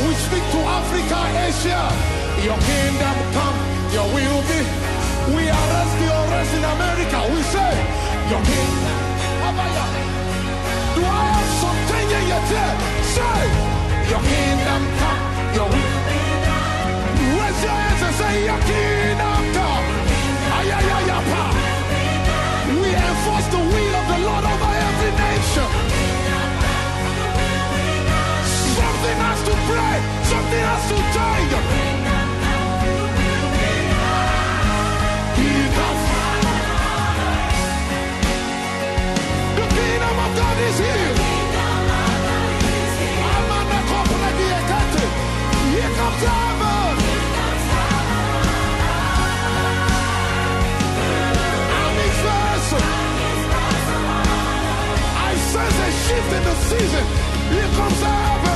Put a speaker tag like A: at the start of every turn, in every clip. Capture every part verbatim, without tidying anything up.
A: We speak to Africa, Asia. Your kingdom come, your will be. We arrest the arrest in America. We say, your kingdom. Do I have something in your tail? Say, your kingdom come, your will be done. Raise your hands and say, your kingdom come. Ayayayapa. We enforce the will of the Lord over every nation. Something has to break. Something has to change. Here comes. The kingdom of God is here. Here comes heaven. I'm his vessel. I sense a shift in the season. Here comes heaven.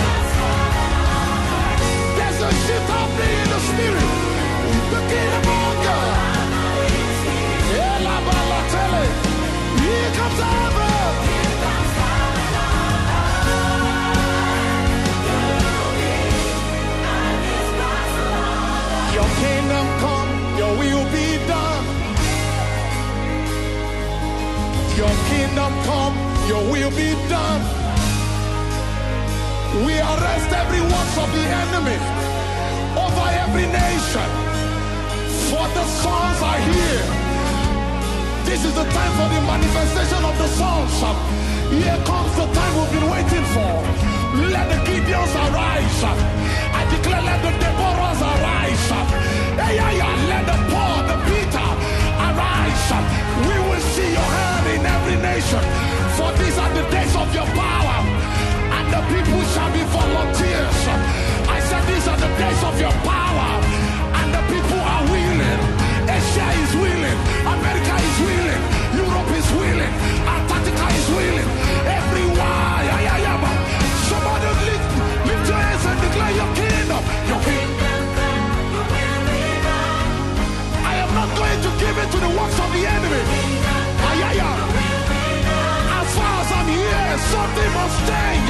A: There's a shift happening in the spirit. The kingdom of God. Here comes heaven. Your kingdom come, your will be done. Your kingdom come, your will be done. We arrest every works of the enemy over every nation. For the sons are here. This is the time for the manifestation of the sons. Here comes the time we've been waiting for. Let the Gideons arise. I declare, let the Deborahs arise. Hey, yeah, yeah. Let the Paul, the Peter arise. We will see your hand in every nation. For these are the days of your power. And the people shall be volunteers. I said these are the days of your power. And the people are willing. Asia is willing. America is willing. Europe is willing. Antarctica is willing. Everywhere. Yeah, yeah, yeah. Somebody lift, lift your hands and declare your kingdom. Your kingdom come, your will be done. I am not going to give it to the works of the enemy. Ah, yeah, yeah. As far as I'm here, something must change.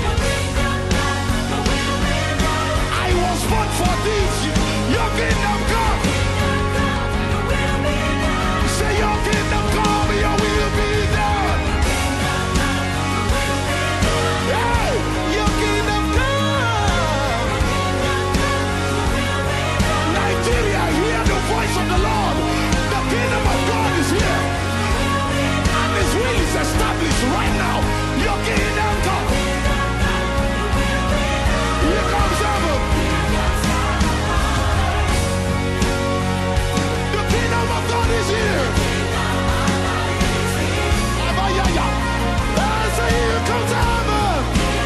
A: I was born for this. Your kingdom come. Say your kingdom come, your will be done. Yeah, your kingdom come. Nigeria, hear the voice of the Lord. The kingdom of God is here. And his will is established right now. Your kingdom come. Here comes heaven. The kingdom of God is here. Abayaya. I say here comes heaven.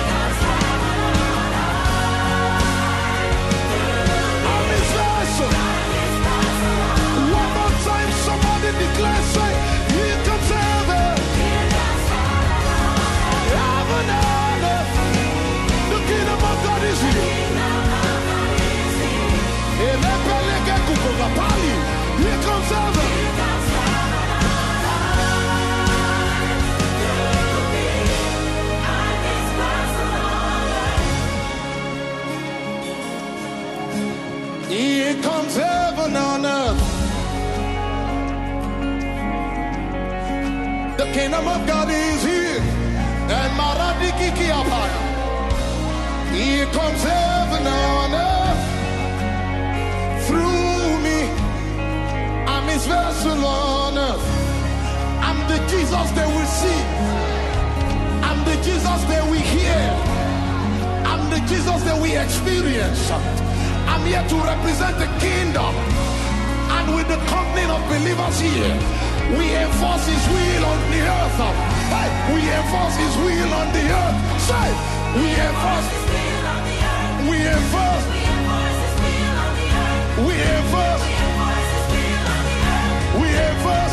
A: I'm his vessel. One more time, somebody declare, say, here comes heaven. Heaven and earth. The kingdom of God is here. Here comes heaven. Here comes heaven on earth. The kingdom of God is here. And Maradiki Kiapaya. Here comes heaven on earth. Through me, I'm his vessel on earth. I'm the Jesus they will see. I'm the Jesus they will hear. I'm the Jesus that we experience. I'm here to represent the kingdom. And with the company of believers here, we enforce his will on the earth. Hey, we enforce his will on the earth. Say, we enforce his will on the earth. We enforce. We enforce. We enforce.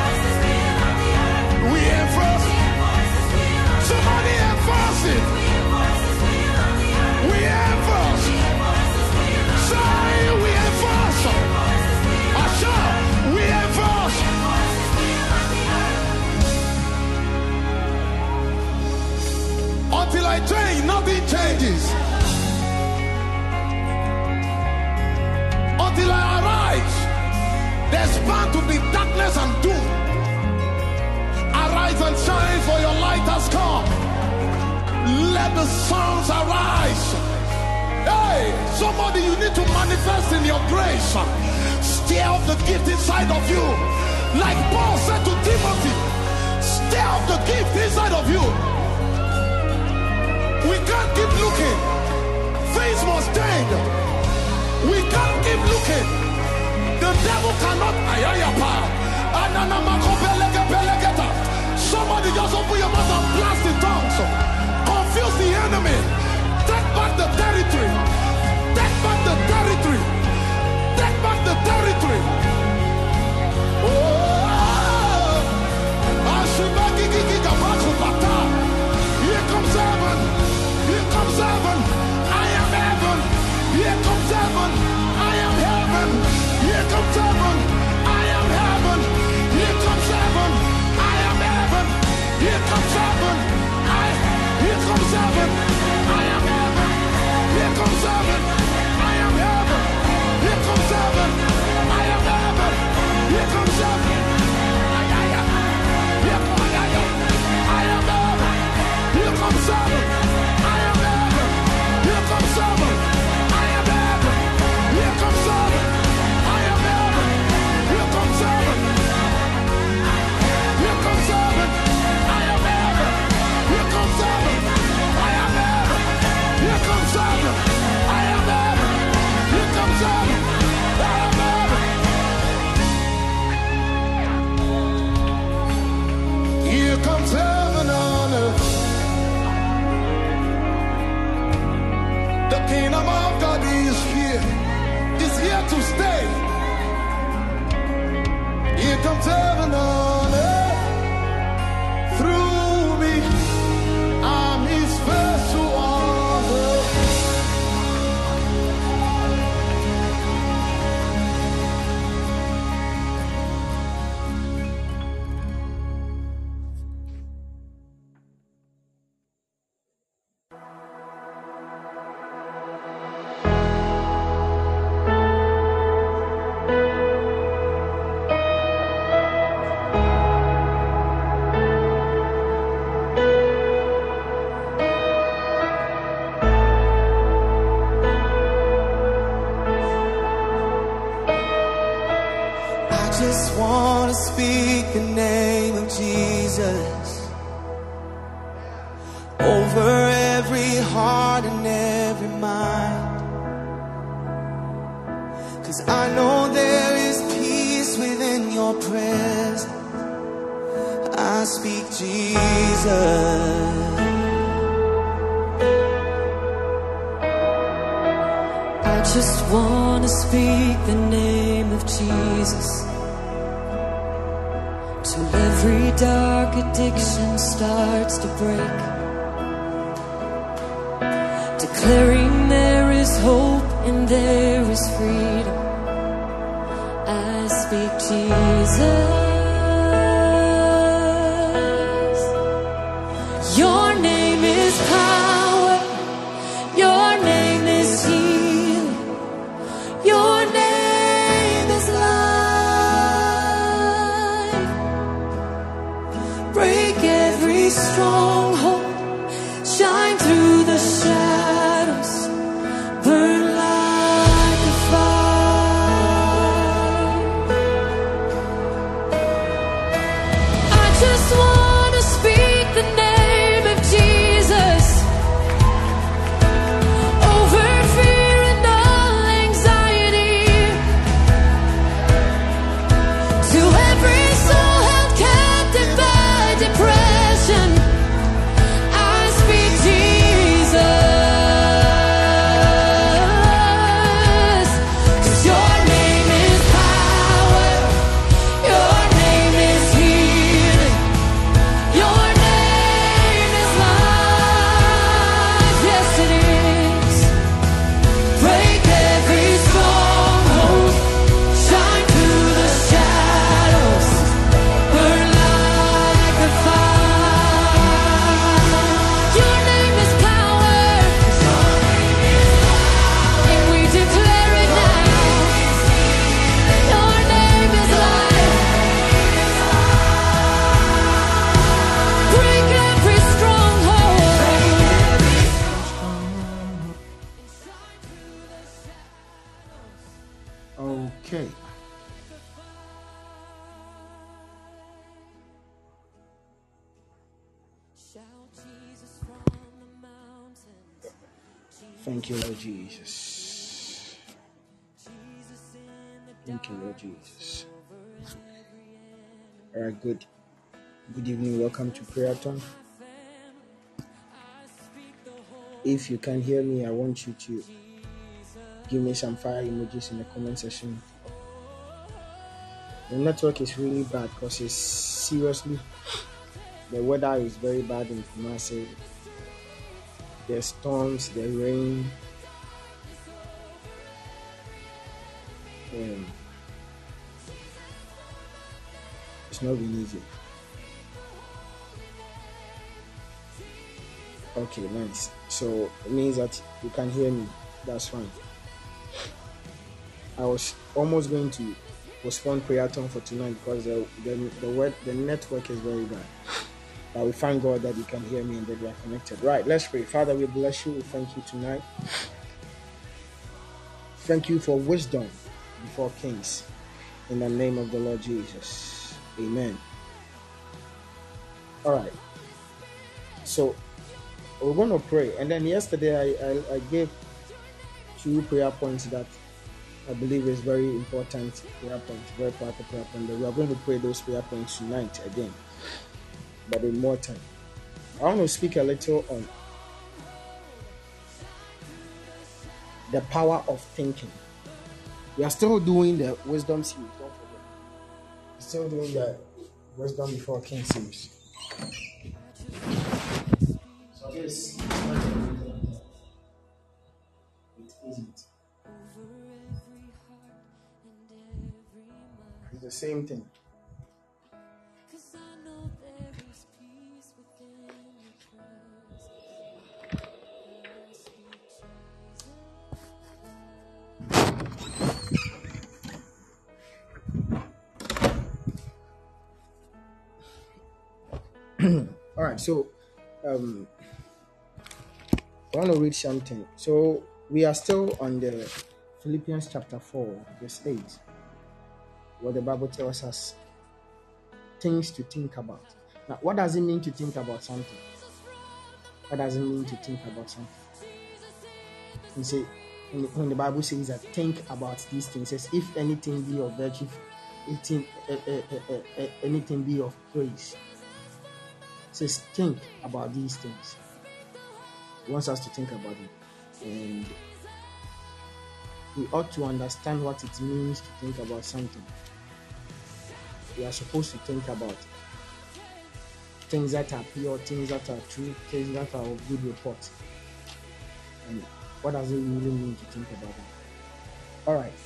A: We enforce. Somebody enforce it. We enforce. Say we enforce. Asha, we enforce. Until I change, nothing changes. bound to be darkness and doom. Arise and shine, for your light has come. Let the sons arise. Hey, somebody, you need to manifest in your grace. Stir up the gift inside of you. Like Paul said to Timothy, stir up the gift inside of you. We can't keep looking. Things must change. We can't keep looking. The devil cannot. Somebody just open your mouth and blast in tongues. Confuse the enemy. Take back the territory. Take back the territory. Take back the territory. Oh, here comes heaven. Here comes heaven. I am heaven. Here comes heaven. I am heaven. Here comes heaven. I am heaven. Here comes heaven. I am heaven. Here comes heaven. I. Here comes heaven. I am heaven. Here comes heaven. I am heaven. Here comes heaven. I am heaven. Here comes heaven. I am. Here comes heaven. I am heaven. Here comes heaven. I am heaven. Here comes heaven. I am heaven. Here comes heaven. I am heaven. Here comes heaven. Here comes heaven. I am heaven. Here comes heaven. I am heaven. Here comes heaven. I am heaven. Here comes heaven. I am heaven. Here comes heaven on earth. The kingdom of God is here. Is here to stay. Here comes heaven on earth. Through me, I'm his vessel on earth.
B: I just want to speak the name of Jesus over every heart and every mind. 'Cause I know there is peace within your presence. I speak Jesus.
C: I just want to speak the name of Jesus till every dark addiction starts to break, declaring there is hope and there is freedom. I speak Jesus. Your name is power. Your name is healing. Your name is life. Break every stronghold. Shine through the shadows. Burn like a fire.
D: Okay. Thank you, Lord Jesus. Thank you, Lord Jesus. All right, good. Good evening. Welcome to Prayerthon. If you can hear me, I want you to give me some fire emojis in the comment section. The network is really bad because it's seriously, the weather is very bad in Kumasi. The storms, the rain. Um, it's not been easy. Okay, nice. So it means that you can hear me. That's fine. I was almost going to postpone Prayerthon for tonight because the the the, word, the network is very bad. But we thank God that you can hear me and that we are connected. Right, let's pray. Father, we bless you. We thank you tonight. Thank you for wisdom before kings. In the name of the Lord Jesus. Amen. All right. So we're going to pray. And then yesterday I, I, I gave two prayer points that I believe is very important prayer points, very powerful prayer point. We are going to pray those prayer points tonight again, but in more time. I want to speak a little on the power of thinking. We are still doing the wisdom series, don't forget. We're still doing the wisdom before king series. So this it isn't. It's the same thing. All right, so um, I want to read something. So we are still on the Philippians chapter four, verse eight, where the Bible tells us things to think about. Now, what does it mean to think about something? What does it mean to think about something? You see, when the, when the Bible says that think about these things, it says, if anything be of virtue, anything, uh, uh, uh, uh, anything be of praise. It says think about these things. He wants us to think about it. And we ought to understand what it means to think about something. We are supposed to think about things that are pure, things that are true, things that are of good report. And what does it really mean to think about it? All right.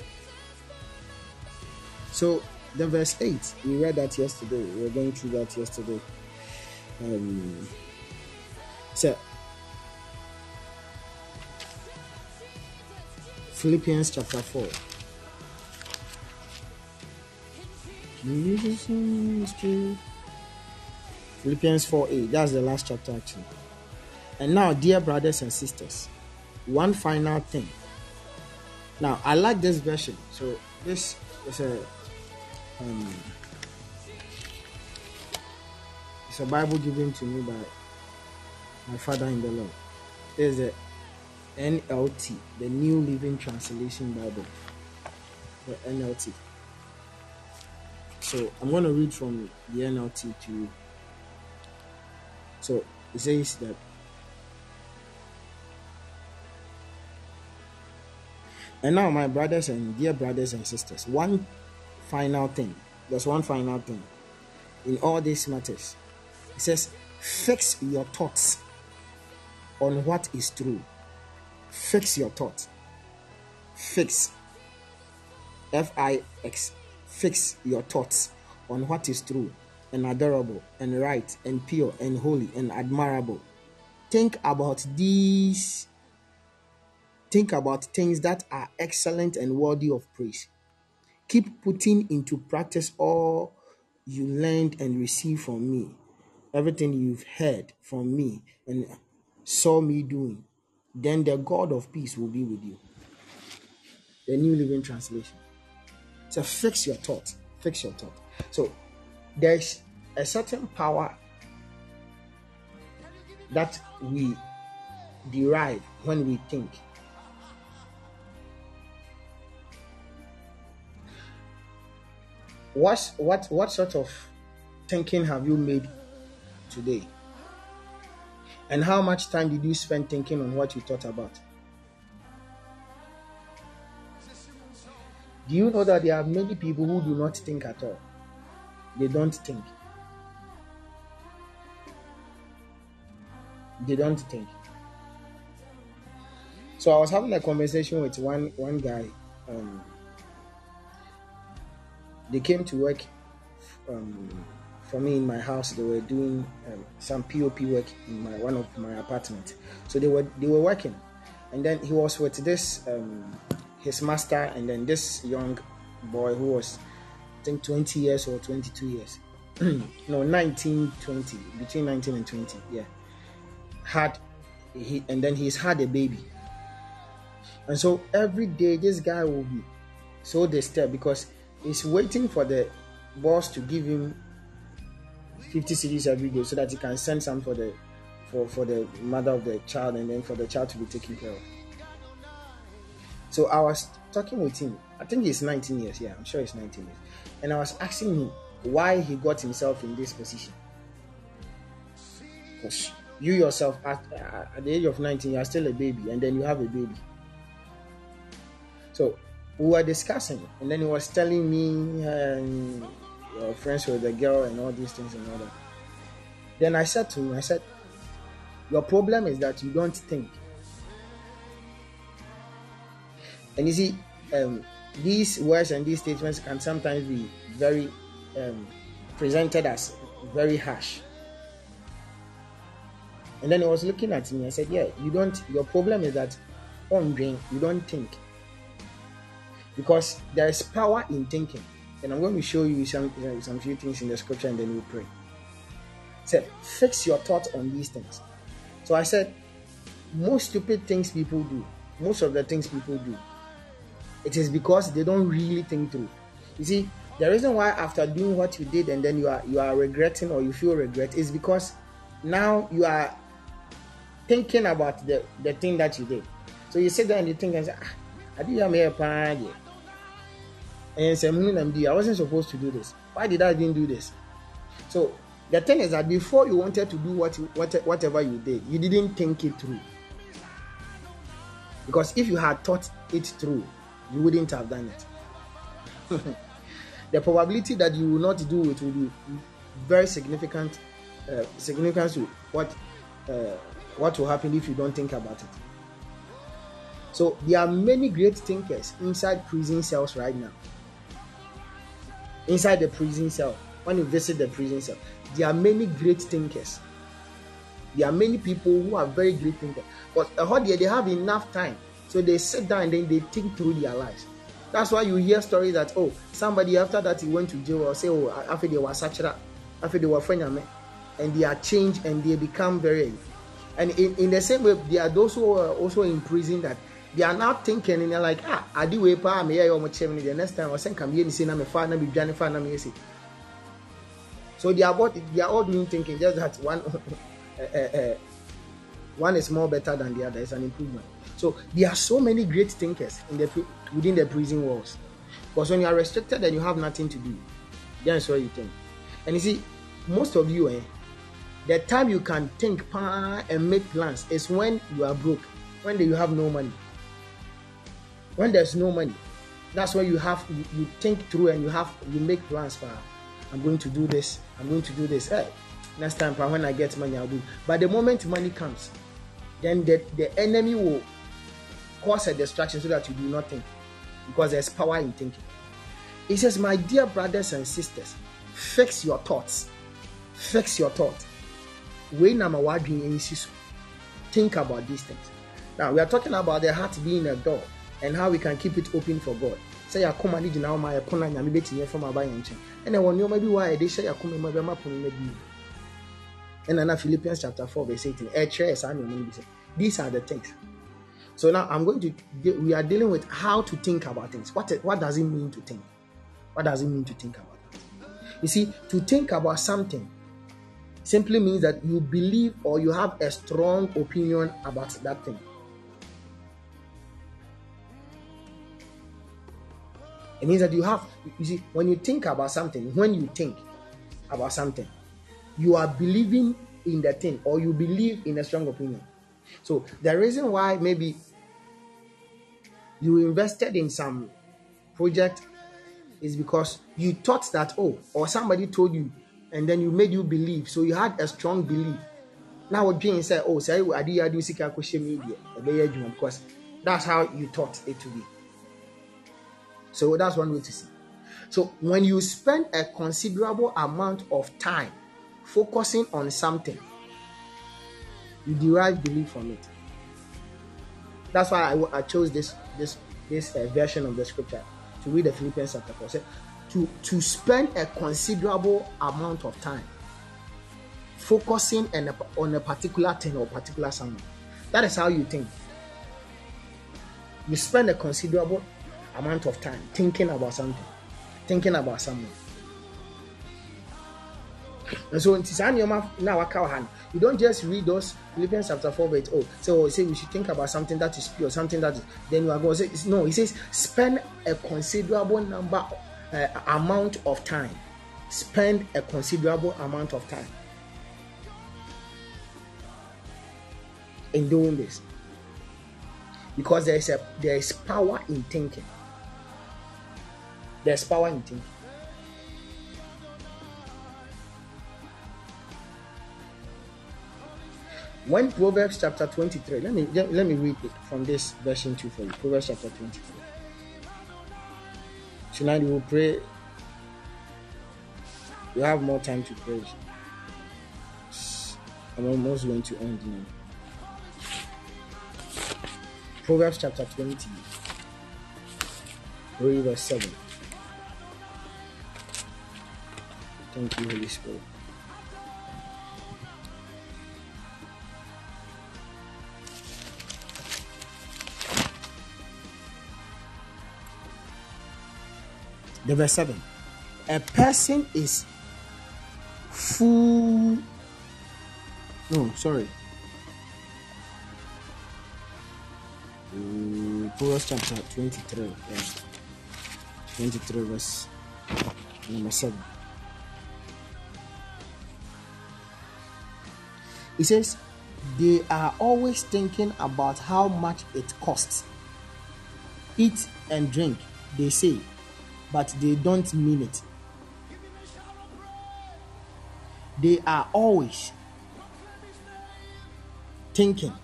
D: So the verse eight, we read that yesterday. We were going through that yesterday. Um, so Philippians chapter four. Philippians four eight. That's the last chapter actually. And now, dear brothers and sisters, one final thing. Now, I like this version. So this is a um, it's a Bible given to me by my father in the Lord. There's a N L T, the New Living Translation Bible. The N L T. So I'm going to read from the N L T to you. So it says that and now, my brothers and dear brothers and sisters, one final thing. There's one final thing in all these matters. It says, fix your thoughts on what is true. Fix your thoughts. Fix. F I X. Fix your thoughts on what is true and adorable and right and pure and holy and admirable. Think about these. Think about things that are excellent and worthy of praise. Keep putting into practice all you learned and received from me, everything you've heard from me and saw me doing. Then the God of peace will be with you. The New Living Translation. So fix your thought. Fix your thought. So there's a certain power that we derive when we think. What what what sort of thinking have you made today? And how much time did you spend thinking on what you thought about? Do you know that there are many people who do not think at all? They don't think. They don't think. So I was having a conversation with one one guy. Um, they came to work um, for me in my house. They were doing um, some P O P work in my one of my apartments. So they were they were working, and then he was with this um, his master, and then this young boy who was, I think, twenty years or twenty-two years, no, nineteen, twenty, between nineteen and twenty, yeah, had he, and then he's had a baby. And so every day this guy will be so disturbed because he's waiting for the boss to give him fifty cedis every day so that he can send some for the for, for the mother of the child, and then for the child to be taken care of. So I was talking with him. I think he's nineteen years. Yeah, I'm sure he's nineteen years. And I was asking him why he got himself in this position. Because you yourself, at, at the age of nineteen, you are still a baby, and then you have a baby. So we were discussing, and then he was telling me and your friends with the girl and all these things and all that. Then I said to him, I said, your problem is that you don't think. And you see, um, these words and these statements can sometimes be very um, presented as very harsh. And then he was looking at me. I said, yeah, you don't, your problem is that on brain, you don't think. Because there is power in thinking. And I'm going to show you some, uh, some few things in the scripture, and then we'll pray. So fix your thoughts on these things. So I said, most stupid things people do, most of the things people do, it is because they don't really think through. You see, the reason why after doing what you did and then you are you are regretting or you feel regret is because now you are thinking about the, the thing that you did. So you sit there and you think and say, ah, I did have a plan. And say, I wasn't supposed to do this. Why did I even do this? So the thing is that before you wanted to do what, what whatever you did, you didn't think it through. Because if you had thought it through, you wouldn't have done it. The probability that you will not do it will be very significant, uh, significant to what uh, what will happen if you don't think about it. So there are many great thinkers inside prison cells right now. Inside the prison cell, when you visit the prison cell, there are many great thinkers. There are many people who are very great thinkers. But uh, they have enough time. So they sit down and then they think through their lives. That's why you hear stories that, oh, somebody after that he went to jail or say, oh, after they were such a, after they were friends, and they are changed and they become very. And in, in the same way, there are those who are also in prison that they are now thinking and they're like, ah, I do way pa me ya much the next time I send come here and say na me fa na be dwane fa na me say. So they are both they are all doing thinking, just that one uh, uh, uh, one is more better than the other. It's an improvement. So there are so many great thinkers in the within the prison walls. Because when you are restricted and you have nothing to do, that's what you think. And you see, most of you, eh, the time you can think and make plans is when you are broke, when you have no money. When there's no money, that's when you have you, you think through and you have you make plans for. I'm going to do this. I'm going to do this. Hey, next time, when I get money, I'll do. But the moment money comes, then the, the enemy will cause a distraction so that you do not think, because there's power in thinking. It says, my dear brothers and sisters, fix your thoughts. Fix your thoughts. Think about these things. Now we are talking about the heart being a door and how we can keep it open for God. Say ya come and now my corner and beti from my and then when you maybe why they say ya come maybe maybe. And then Philippians chapter four verse eighteen. These are the things. So now I'm going to we are dealing with how to think about things. What what does it mean to think? What does it mean to think about that? You see, to think about something simply means that you believe or you have a strong opinion about that thing. It means that you have, you see, when you think about something, when you think about something, you are believing in the thing, or you believe in a strong opinion. So the reason why maybe you invested in some project is because you thought that, oh, or somebody told you, and then you made you believe. So you had a strong belief. Now what Jane said, oh, say I did do social media, because that's how you thought it to be. So that's one way to see. So when you spend a considerable amount of time focusing on something, you derive belief from it. That's why I, I chose this this this uh, version of the scripture to read the Philippians chapter four. So, to to spend a considerable amount of time focusing on a, on a particular thing or particular someone. That is how you think. You spend a considerable amount of time thinking about something, thinking about someone. And so now you don't just read those Philippians chapter four verse oh, so say we should think about something that is pure, something that is, then you are going to say no. He says spend a considerable number uh, amount of time. Spend a considerable amount of time in doing this, because there is a there is power in thinking. There's power in thinking. When Proverbs chapter twenty-three, let me let me read it from this version two for you. Proverbs chapter twenty-three. Tonight we will pray. We have more time to pray. I'm almost going to end now. Proverbs chapter twenty, read verse seven. Thank you, Holy Spirit. The verse seven. A person is full. No, sorry. Um, Proverbs chapter twenty-three, yes. twenty-three, verse number seven. It says, they are always thinking about how much it costs. Eat and drink, they say, but they don't mean it. They are always thinking.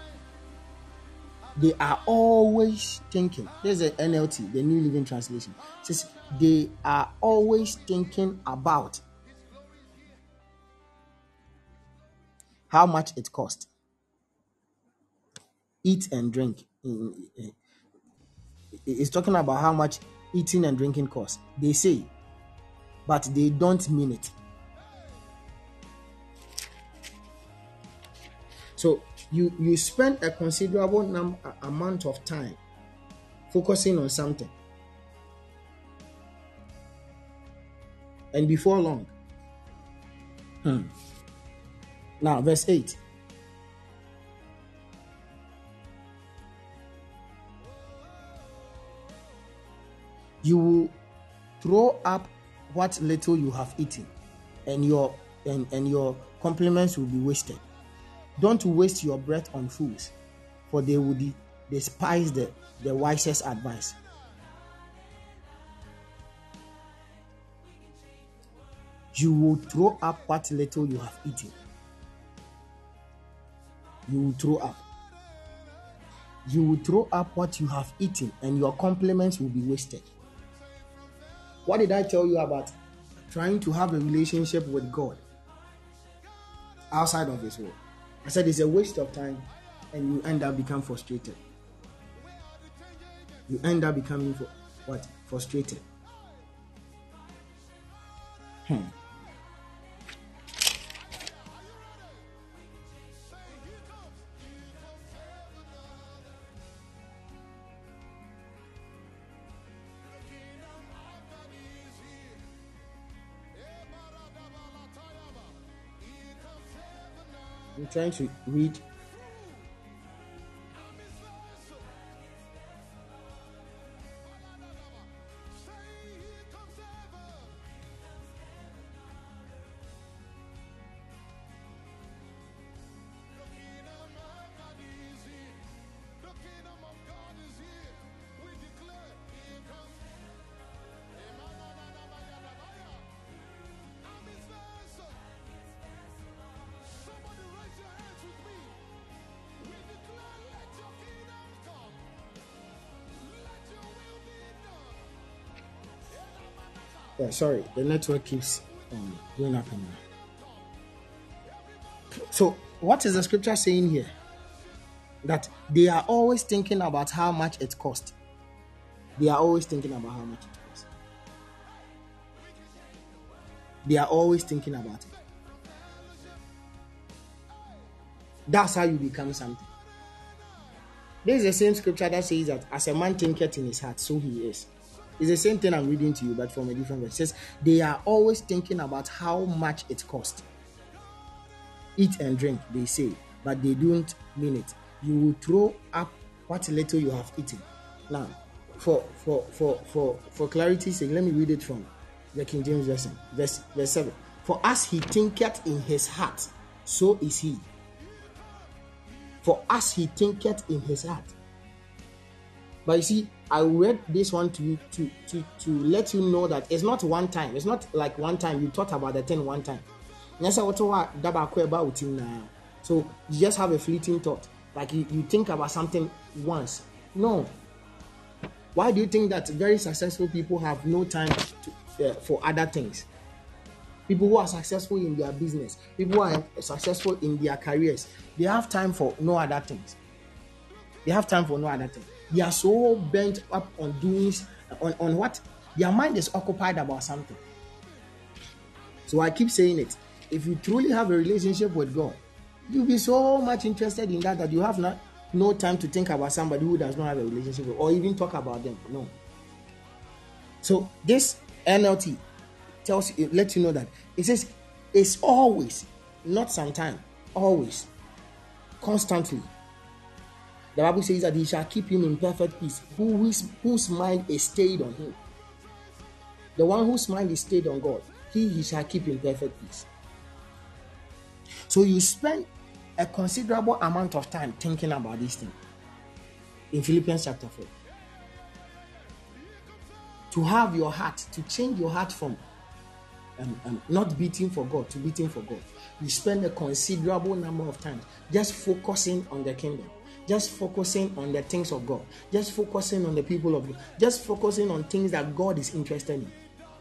D: They are always thinking. There's the N L T, the New Living Translation. It says, they are always thinking about how much it costs. Eat and drink. It's talking about how much eating and drinking costs. They say, but they don't mean it. So you you spend a considerable num- amount of time focusing on something, and before long, hmm. Now verse eight. You will throw up what little you have eaten, and your and, and your compliments will be wasted. Don't waste your breath on fools, for they will de- despise the, the wisest advice. You will throw up what little you have eaten. You will throw up. You will throw up what you have eaten, and your compliments will be wasted. What did I tell you about trying to have a relationship with God outside of His word? I said it's a waste of time, and you end up becoming frustrated. You end up becoming for, what? Frustrated. Hmm. I'm trying to read. Yeah, sorry, the network keeps um, going up and down. So, what is the scripture saying here? That they are always thinking about how much it costs. They are always thinking about how much it costs. They are always thinking about it. That's how you become something. This is the same scripture that says that as a man thinketh in his heart, so he is. It's the same thing I'm reading to you, but from a different verse. It says, they are always thinking about how much it costs. Eat and drink, they say, but they don't mean it. You will throw up what little you have eaten. Now, for for for for for clarity's sake, let me read it from the King James Version, verse, verse seven. For as he thinketh in his heart, so is he. For as he thinketh in his heart. But you see, I read this one to you to, to, to let you know that it's not one time. It's not like one time you thought about the thing one time. So you just have a fleeting thought. Like you, you think about something once. No. Why do you think that very successful people have no time to, uh, for other things? People who are successful in their business, people who are successful in their careers, they have time for no other things. They have time for no other thing. They are so bent up on doing, on, on what? Their mind is occupied about something. So I keep saying it. If you truly have a relationship with God, you'll be so much interested in that that you have not, no time to think about somebody who does not have a relationship with, or even talk about them. No. So this N L T tells you, lets you know that it says it's always, not sometime, always, constantly. The Bible says that he shall keep him in perfect peace, who is, whose mind is stayed on him. The one whose mind is stayed on God, he, he shall keep in perfect peace. So you spend a considerable amount of time thinking about this thing. In Philippians chapter four. To have your heart, to change your heart from um, um, not beating for God to beating for God. You spend a considerable number of times just focusing on the kingdom. Just focusing on the things of God. Just focusing on the people of God. Just focusing on things that God is interested in.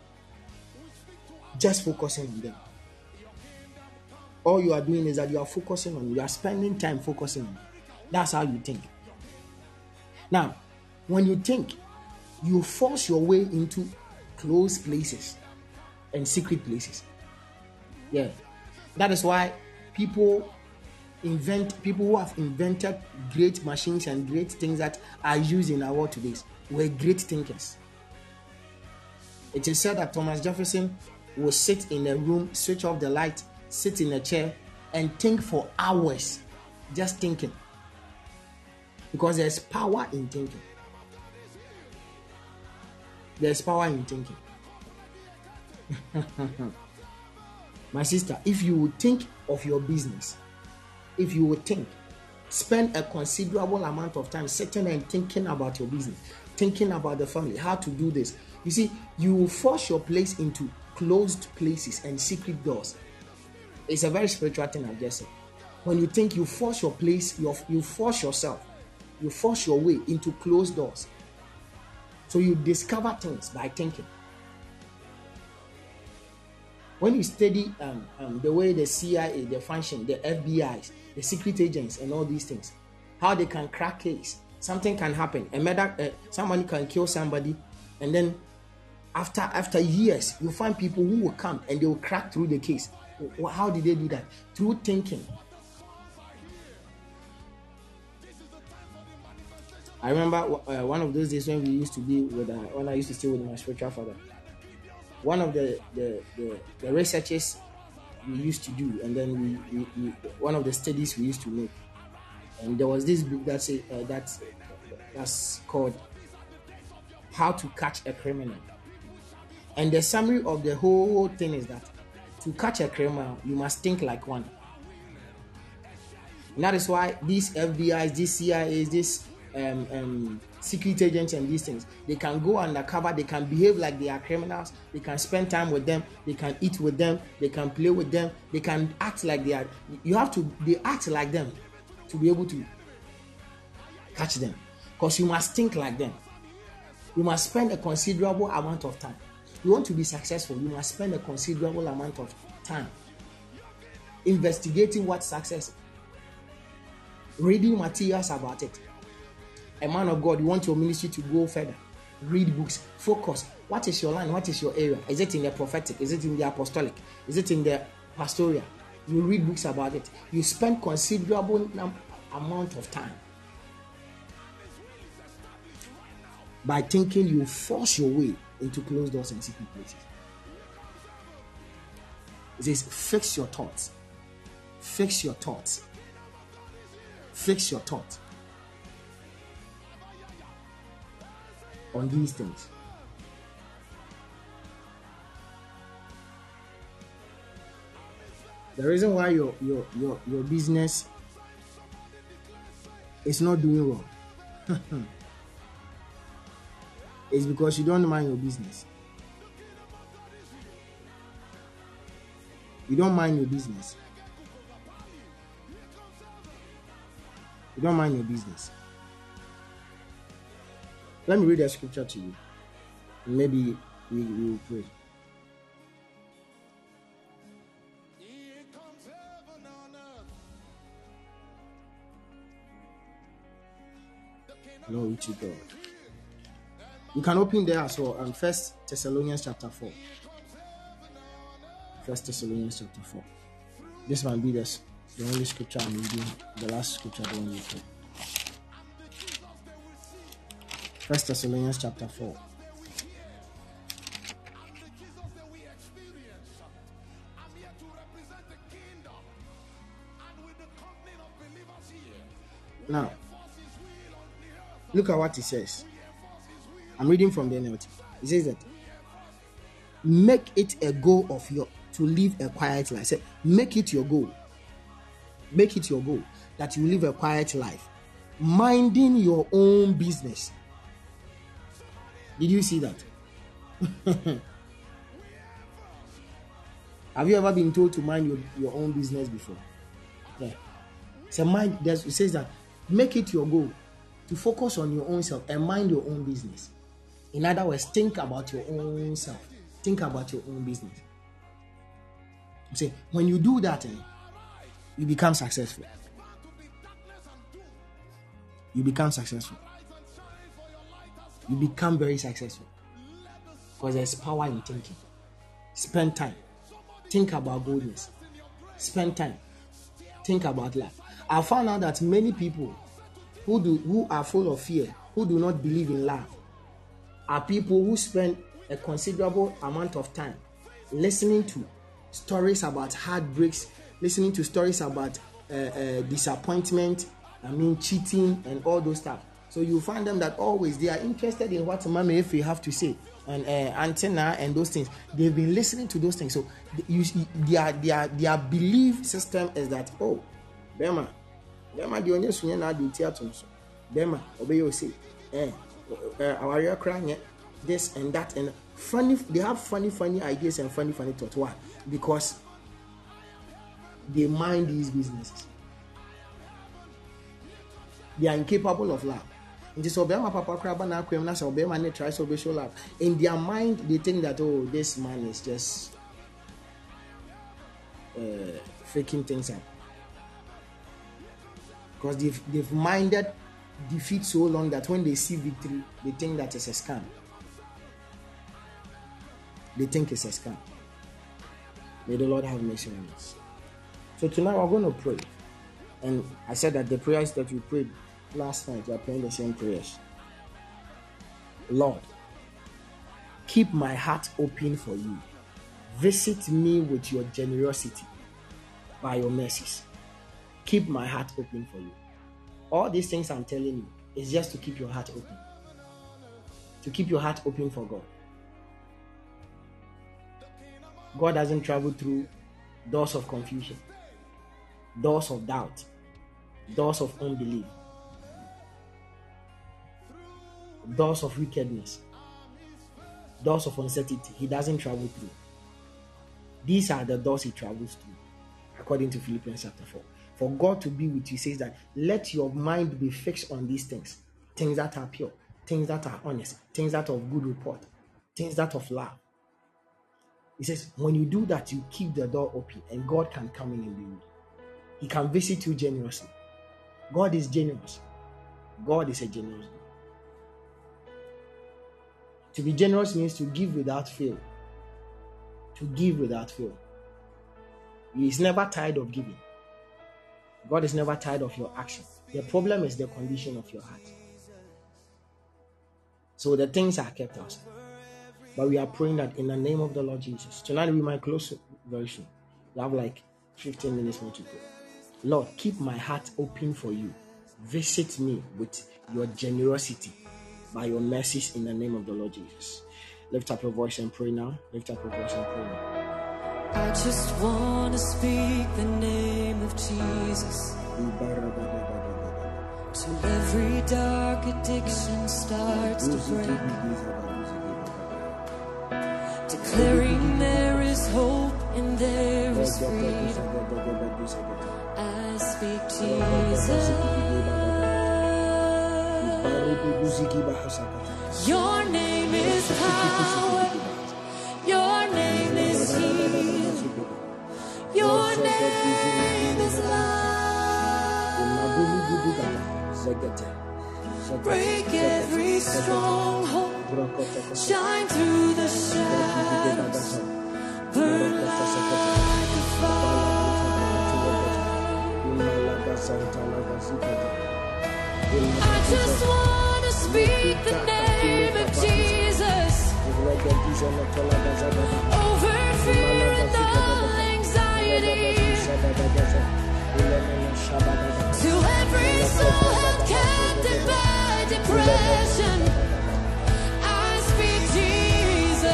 D: Just focusing on them. All you are doing is that you are focusing on, you are spending time focusing on. That's how you think. Now, when you think, you force your way into closed places and secret places. Yeah. That is why people invent, people who have invented great machines and great things that are used in our world today were great thinkers. It is said that Thomas Jefferson would sit in a room, switch off the light, sit in a chair, and think for hours, just thinking. Because there's power in thinking. There's power in thinking. My sister, if you would think of your business, if you would think, spend a considerable amount of time sitting and thinking about your business, thinking about the family, how to do this. You see, you will force your place into closed places and secret doors. It's a very spiritual thing, I've just said. When you think, you force your place, you, you force yourself, you force your way into closed doors. So you discover things by thinking. When you study um, um, the way the C I A, the function, the F B Is, the secret agents and all these things, how they can crack case, something can happen. A murder, uh, somebody can kill somebody, and then after after years, you find people who will come and they will crack through the case. How did they do that? Through thinking. I remember uh, one of those days when we used to be with, uh, when I used to stay with my spiritual father. One of the the, the, the researchers we used to do, and then we, we, we one of the studies we used to make, and there was this book that's a, uh, that's that's called How to Catch a Criminal, and the summary of the whole thing is that to catch a criminal you must think like one. And that is why these F B Is, these C I As, these um, um, secret agents and these things, they can go undercover, they can behave like they are criminals, they can spend time with them, they can eat with them, they can play with them, they can act like they are, you have to, they act like them to be able to catch them, because you must think like them. You must spend a considerable amount of time. You want to be successful, you must spend a considerable amount of time investigating what success is, reading materials about it. A man of God, you want your ministry to go further, read books, focus. What is your line? What is your area? Is it in the prophetic? Is it in the apostolic? Is it in the pastoral? You read books about it. You spend considerable amount of time. By thinking, you force your way into closed doors and secret places. It says, fix your thoughts. Fix your thoughts. Fix your thoughts on these things. The reason why your your your, your business is not doing well is because you don't mind your business. You don't mind your business. You don't mind your business. Let me read a scripture to you. Maybe we, we will pray. Glory to God. You can open there as well. Um, First Thessalonians chapter four. First Thessalonians chapter four. This might be this. The only scripture I'm reading, the last scripture I don't read. First Thessalonians chapter four. Now, look at what it says. I'm reading from the N L T. It says that make it a goal of your to live a quiet life. Say, make it your goal. Make it your goal that you live a quiet life, minding your own business. Did you see that? Have you ever been told to mind your, your own business before? Yeah. So mind, it says that make it your goal to focus on your own self and mind your own business. In other words, think about your own self. Think about your own business. See, when you do that, eh, you become successful. You become successful. You become very successful. Because there's power in thinking. Spend time. Think about goodness. Spend time. Think about life. I found out that many people who do who are full of fear, who do not believe in love, are people who spend a considerable amount of time listening to stories about heartbreaks, listening to stories about uh, uh, disappointment, I mean cheating and all those stuff. So you find them that always they are interested in what Mama Efe have to say and uh, antenna and those things. They've been listening to those things. So you, their their their belief system is that, oh, Bema, Bema the only sunya na do theater so. Bema obey you say, eh, our real crying this and that and funny. They have funny funny ideas and funny funny thoughts. Why? Because they mind these businesses. They are incapable of love. In their mind, they think that, oh, this man is just uh, faking things up. Because they've, they've minded defeat so long that when they see victory, they think that it's a scam. They think it's a scam. May the Lord have mercy on us. So tonight we're going to pray. And I said that the prayers that we prayed last night, we are praying the same prayers. Lord, keep my heart open for you. Visit me with your generosity by your mercies. Keep my heart open for you. All these things I'm telling you is just to keep your heart open. To keep your heart open for God. God doesn't travel through doors of confusion, doors of doubt, doors of unbelief, doors of wickedness, doors of uncertainty. He doesn't travel through. These are the doors he travels through, according to Philippians chapter four. For God to be with you, he says that let your mind be fixed on these things, things that are pure, things that are honest, things that are of good report, things that are of love. He says, when you do that, you keep the door open and God can come in and be with you. He can visit you generously. God is generous. God is a generous God. To be generous means to give without fail. To give without fail. He is never tired of giving. God is never tired of your action. The problem is the condition of your heart. So the things are kept outside. But we are praying that in the name of the Lord Jesus. Tonight we might close very soon. We have like fifteen minutes more to go. Lord, keep my heart open for you. Visit me with your generosity by your mercies in the name of the Lord Jesus. Lift up your voice and pray now. Lift up your voice and pray now.
C: I just want to speak the name of Jesus till every dark addiction starts to break, declaring there is hope and there is freedom. I speak Jesus. Your name is power. Your name is healing. Your name is love. Break every stronghold. Shine through the shadows. Burn like a fire. I just want to speak the name of Jesus over fear and all anxiety, to every soul held captive by depression. I speak Jesus,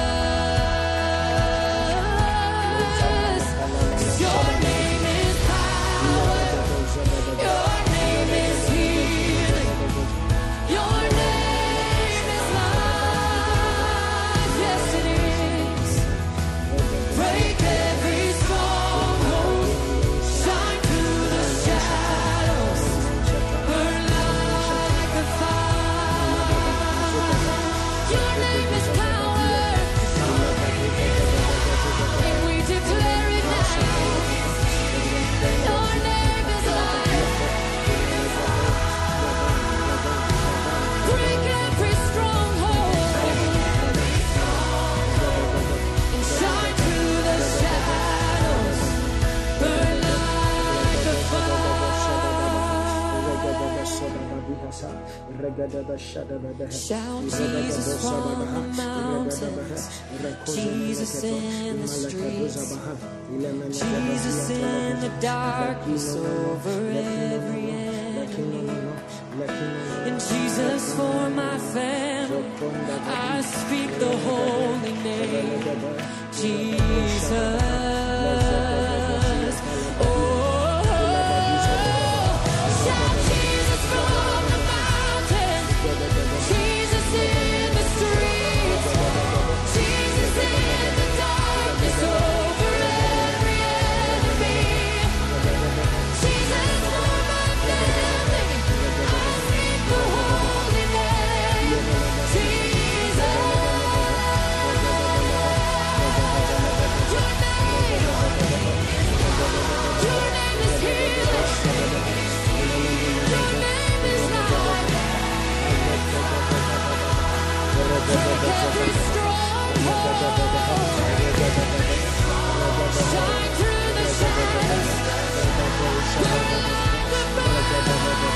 C: 'cause your name is power, your name is healing, your name is life. Yes, it is. Break every stronghold, shine through the shadows, burn like a fire. Your name is power, and we declare it now. Your name is life. Break every stronghold and shine through the shadows, burn like a fire. Shout Jesus from the mountains, Jesus in the streets, Jesus in the darkness over every enemy, and Jesus for my family. I speak the holy name, Jesus. Oh, shout Jesus from the mountain, Jesus in the streets, Jesus in the darkness over every enemy, Jesus for my family. I speak the holy name, Jesus. Your name, your name is healing. Your name is life. Break every stronghold. Shine through the shadows. Burn like a fire.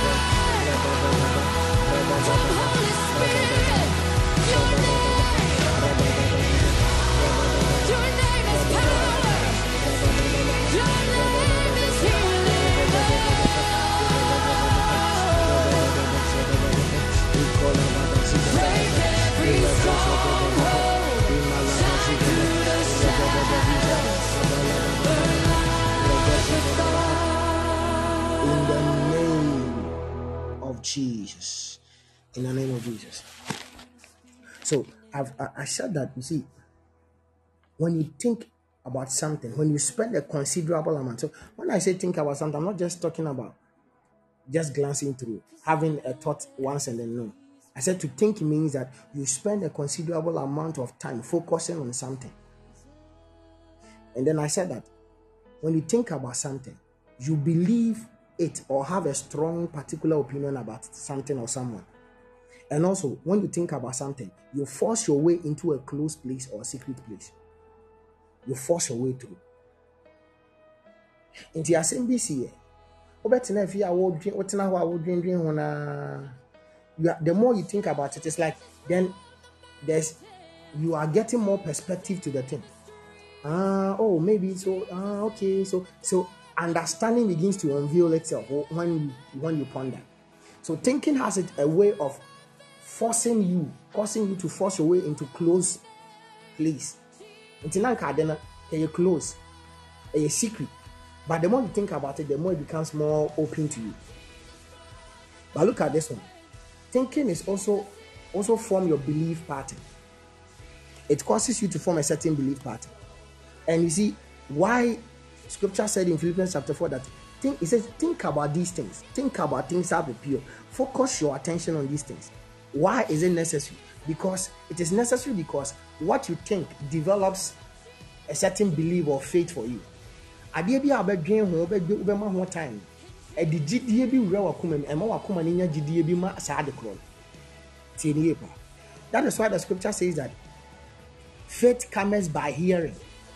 C: Come, Holy Spirit. Your name, your name
D: In the name of Jesus. In the name of Jesus. So I've I, I said that, you see, when you think about something, when you spend a considerable amount. So when I say think about something, I'm not just talking about just glancing through, having a thought once and then no. I said to think means that you spend a considerable amount of time focusing on something. And then I said that when you think about something, you believe it or have a strong particular opinion about something or someone. And also, when you think about something, you force your way into a closed place or a secret place. You force your way through. Into your same B C, the more you think about it, it's like then there's you are getting more perspective to the thing. Ah, oh, maybe so. Ah, okay, so so understanding begins to unveil itself when you when you ponder. So thinking has it a way of forcing you, causing you to force your way into close place. Until now, you're close, you're secret. But the more you think about it, the more it becomes more open to you. But look at this one. Thinking is also also form your belief pattern. It causes you to form a certain belief pattern. And you see why Scripture said in Philippians chapter four that think, it says, think about these things. Think about things that are pure. Focus your attention on these things. Why is it necessary? Because it is necessary because what you think develops a certain belief or faith for you. Adeɛ bi a ɔbɛdwen ho ɔbɛdwe ɔbɛma ho time. Ɛde gyidie bi wura wakoma mu ɛma wakoma ne nya gyidie bi ma saa de korɔ. Tie ne yɛ pa. That is why the Scripture says that faith comes by hearing.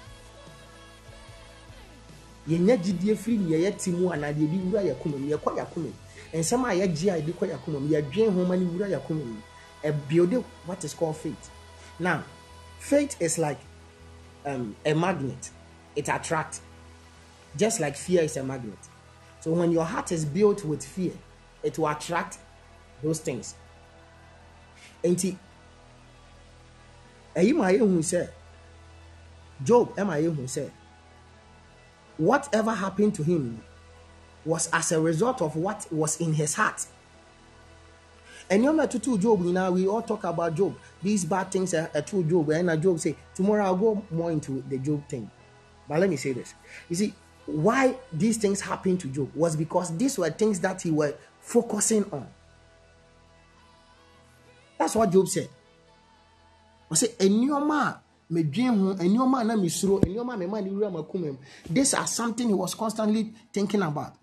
D: Yɛnya gyidie firi ne yɛ ti mu ana de bi wura yakoma mu yɛkɔ yakoma mu. Nsɛm a yɛgye a de kɔ yakoma mu yɛdwen ho ma ne wura yakoma mu. A build what is called faith. Now, faith is like um, a magnet. It attracts. Just like fear is a magnet. So when your heart is built with fear, it will attract those things. And who said, Job, who said, whatever happened to him was as a result of what was in his heart. And you're not to Job, you know, we all talk about Job. These bad things are, are true Job. And Job say, tomorrow I'll go more into the Job thing. But let me say this. You see, why these things happened to Job was because these were things that he was focusing on. That's what Job said. I say, these are something he was constantly thinking about.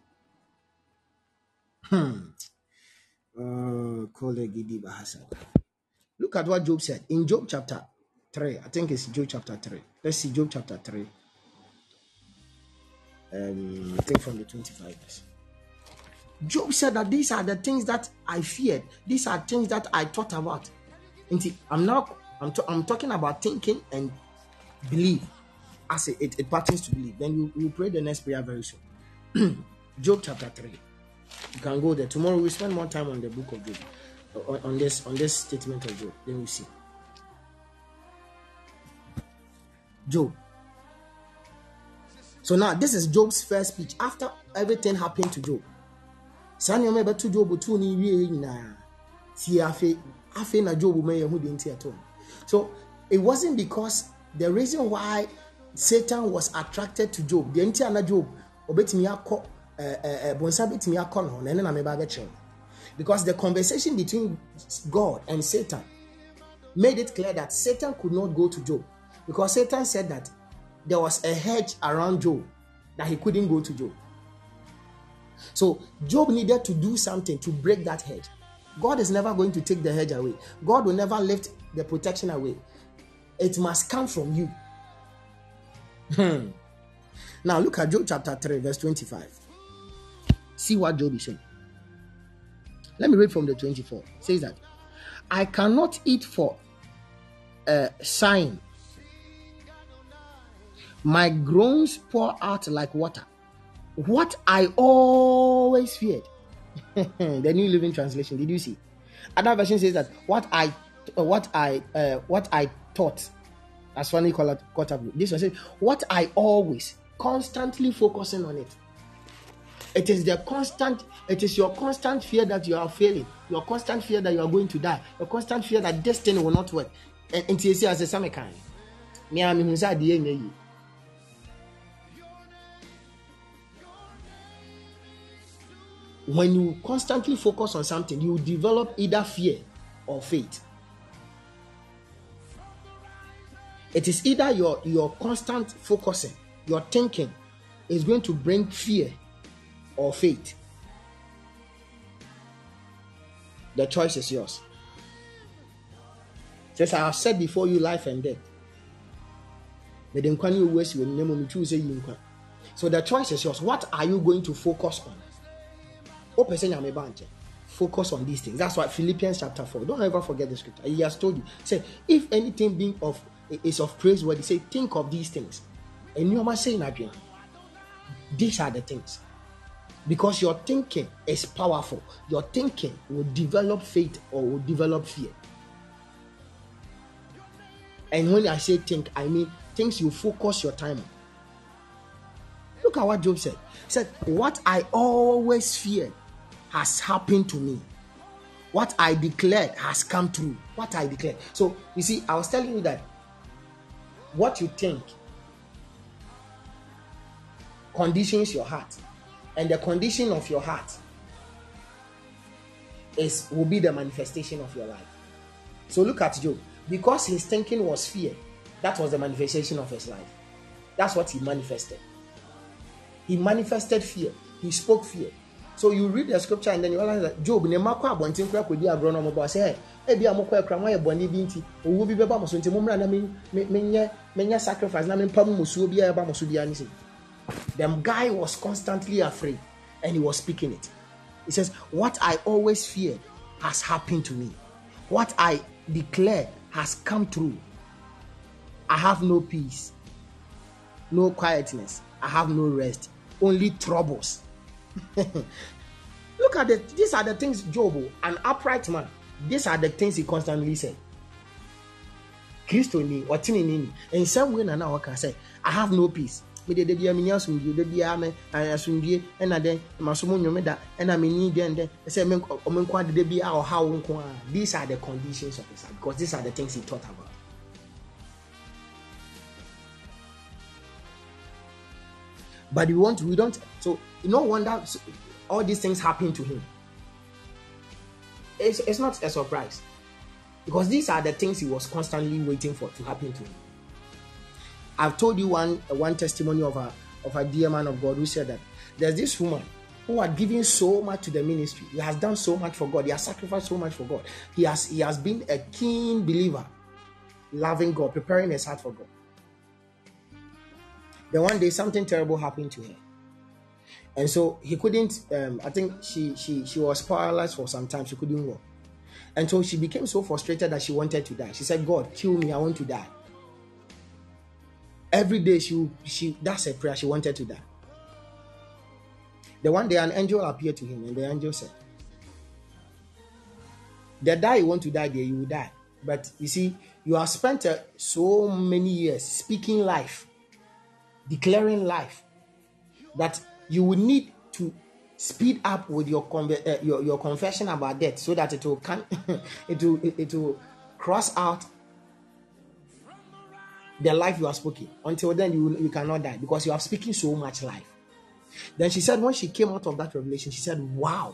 D: Hmm. Uh, Look at what Job said in Job chapter three. I think it's Job chapter three. Let's see Job chapter three. Um, I think from the twenty-five verse. Job said that these are the things that I feared. These are things that I thought about. And I'm now I'm, t- I'm talking about thinking and believe. As it, it, it pertains to believe. Then you you pray the next prayer very soon. Job chapter three. You can go there. Tomorrow we'll spend more time on the book of Job. On, on this on this statement of Job. Then we see. Job. So now this is Job's first speech after everything happened to Job. So it wasn't because the reason why Satan was attracted to Job. The entire Job because the conversation between God and Satan made it clear that Satan could not go to Job because Satan said that there was a hedge around Job that he couldn't go to Job. So Job needed to do something to break that hedge. God is never going to take the hedge away. God will never lift the protection away. It must come from you. Hmm. Now look at Job chapter three, verse twenty-five. See what Job is saying. Let me read from the twenty-four. It says that I cannot eat for a sign. My groans pour out like water. What I always feared. The New Living Translation. Did you see? Another version says that what I uh, what I uh, what I taught, as funny call it, caught up with. This one said, what I always constantly focusing on it. It is the constant, it is your constant fear that you are failing, your constant fear that you are going to die, your constant fear that this thing will not work. And until you see as a same kind. Me am inside the end. When you constantly focus on something, you develop either fear or faith. It is either your, your constant focusing, your thinking is going to bring fear or faith. The choice is yours. Just I have said before you, life and death. So the choice is yours. What are you going to focus on? Focus on these things. That's why Philippians chapter four. Don't ever forget the scripture. He has told you. Say, if anything being of is of praiseworthy, say, think of these things. And you must say in again. These are the things. Because your thinking is powerful. Your thinking will develop faith or will develop fear. And when I say think, I mean things you focus your time on. Look at what Job said. He said, what I always feared has happened to me. What I declared has come true. What I declared. So, you see, I was telling you that what you think conditions your heart. And the condition of your heart is will be the manifestation of your life. So look at Job. Because his thinking was fear, that was the manifestation of his life. That's what he manifested. He manifested fear. He spoke fear. So you read the scripture and then you realize that Job, ne makwa abontin kra kwedi agronom bo say, "E bia mokwa ekra mo ye boni bi nti, owo bi beba mo so nti mo mra na menye menye sacrifice na men pam musuo bia eba mo so bia ni say." The guy was constantly afraid and he was speaking it. He says, what I always feared has happened to me. What I declared has come true. I have no peace, no quietness. I have no rest, only troubles. Look at it. These are the things Job, an upright man, these are the things he constantly said. Christo ni, or tini. In some way, now I can say, I have no peace. Me de bia me nya sumdie de bia me asumdie e na den masomo nwome da e na me ni den den say me omenkwa de bia o ha wo nko a. These are the conditions of his life, because these are the things he thought about. But we want we don't so no wonder all these things happen to him. It's, it's not a surprise, because these are the things he was constantly waiting for to happen to him. I've told you one one testimony of a of a dear man of God who said that there's this woman who had given so much to the ministry. He has done so much for God. He has sacrificed so much for God. He has he has been a keen believer, loving God, preparing his heart for God. Then one day something terrible happened to her, and so he couldn't. Um, I think she she she was paralyzed for some time. She couldn't walk, and so she became so frustrated that she wanted to die. She said, "God, kill me. I want to die." Every day she she that's a prayer. She wanted to die. The one day an angel appeared to him, and the angel said, "The day you want to die, there you will die. But you see, you have spent uh, so many years speaking life, declaring life, that you will need to speed up with your conver- uh, your, your confession about death, so that it will can it will it, it will cross out the life you are speaking. Until then, you you cannot die, because you are speaking so much life." Then she said, when she came out of that revelation, she said, "Wow."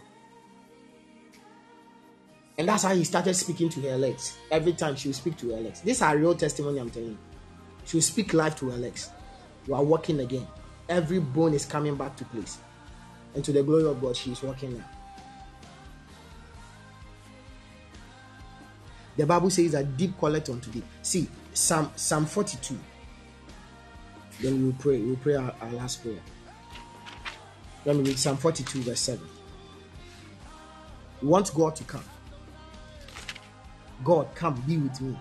D: And that's how he started speaking to her legs. Every time she will speak to her legs. This is a real testimony, I'm telling you. She will speak life to her legs. You are walking again. Every bone is coming back to place. And to the glory of God, she is walking now. The Bible says that deep calleth unto deep. See, Psalm, Psalm forty-two. Then we will pray. We will pray our, our last prayer. Let me read Psalm forty-two, verse seven. We want God to come. God, come, be with me.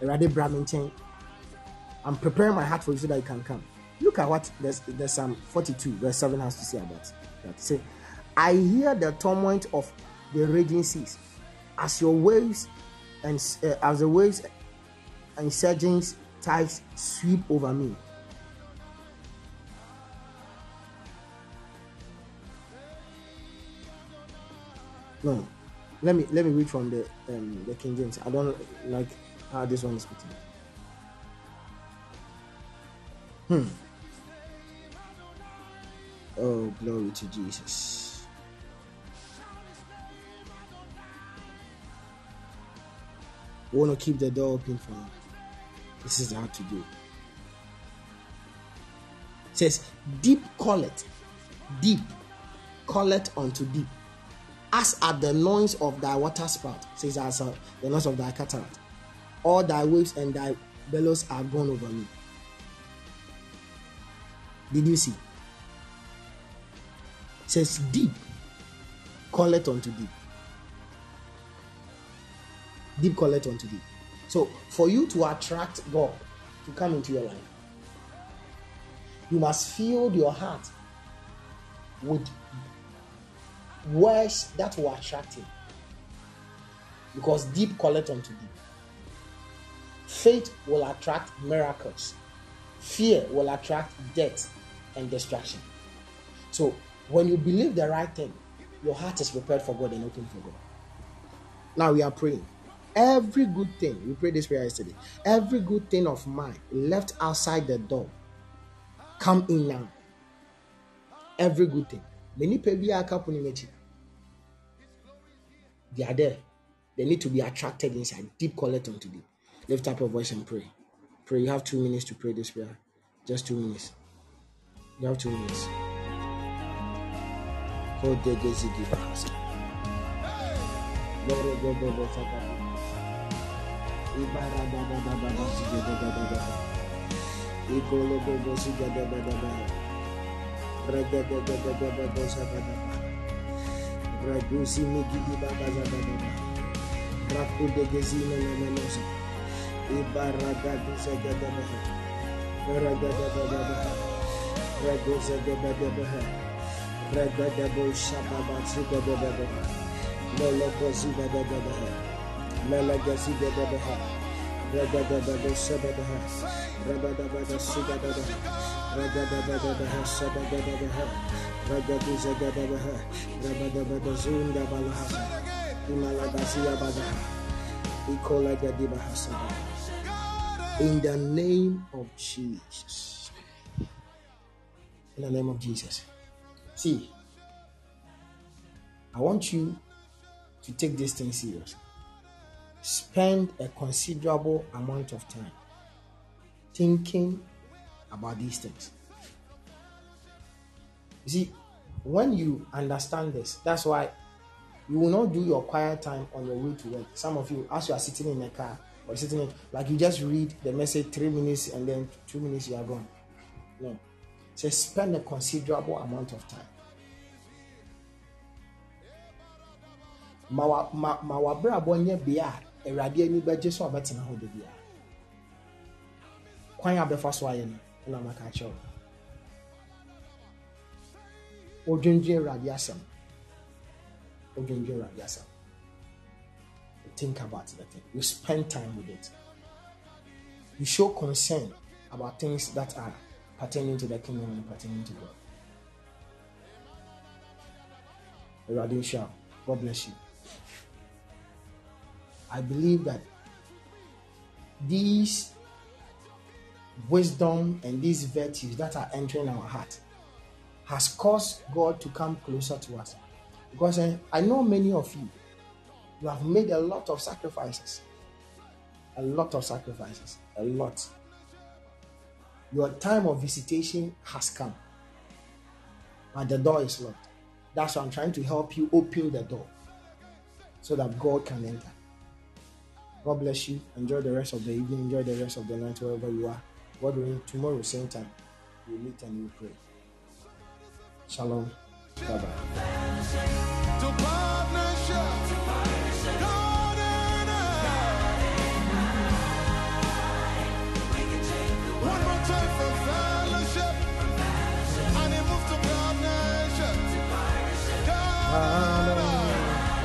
D: I'm preparing my heart for you so that you can come. Look at what the, the Psalm forty-two, verse seven has to say about that. Say, I hear the tumult of the raging seas, as your waves and uh, as the waves and surging tides sweep over me. No, let me let me read from the um, the King James. I don't like how this one is written. Hmm. Oh, glory to Jesus. We want to keep the door open for you. This is how to do. It says, deep calleth, deep calleth unto deep, as at the noise of thy water spout, says as uh, the noise of thy cataract. All thy waves and thy billows are gone over me. Did you see? It says, deep calleth unto deep. Deep calleth unto deep. So, for you to attract God to come into your life, you must fill your heart with words that will attract him. Because deep calleth unto deep. Faith will attract miracles. Fear will attract death and destruction. So, when you believe the right thing, your heart is prepared for God and open for God. Now we are praying. Every good thing, we prayed this prayer yesterday. Every good thing of mine left outside the door, come in now. Every good thing. Many people are They are there. They need to be attracted inside. Deep calleth unto deep. Lift up your voice and pray. Pray. You have two minutes to pray this prayer. Just two minutes. You have two minutes. Hold the Gezigi Bahasa. Ragusi Migidi Bagazababa, Raku de Gezina Lemenosa, Ibaragadu Zagadabaha, Ragadababa, Ragoza de Badabaha, Ragadabo Shababa Zugadabaha, Moloko Zugadabaha, Melagazi de Babaha, Ragadabado Sababaha, Rabadabada Sugadabaha, Ragadabadabaha Sabagadabaha, Ragaduza Gadabaha, Rabadabadazunda Balahasa, Imalagazia Badaha, Ikola Gadibahasa. In the name of Jesus. In the name of Jesus. See, I want you to take this thing serious. Spend a considerable amount of time thinking about these things. You see, when you understand this, that's why you will not do your quiet time on your way to work. Some of you, as you are sitting in a car or sitting in, like you just read the message three minutes and then two minutes you are gone. No. So spend a considerable amount of time. Mawa ma mawa bra bonye bia erade ani baje so abetena ho de bia. Kwan abefa so aye no na maka cho. Odwendwe erade asem. Odwendwe erade asem. Think about the thing. You spend time with it. You show concern about things that are pertaining to the kingdom and pertaining to God. Erade Shah, God bless you. I believe that these wisdom and these virtues that are entering our heart has caused God to come closer to us. Because I, I know many of you, you have made a lot of sacrifices. A lot of sacrifices. A lot. Your time of visitation has come. But the door is locked. That's why I'm trying to help you open the door so that God can enter. God bless you. Enjoy the rest of the evening. Enjoy the rest of the night wherever you are. God willing, tomorrow same time we'll meet and we'll pray. Shalom. Bye bye.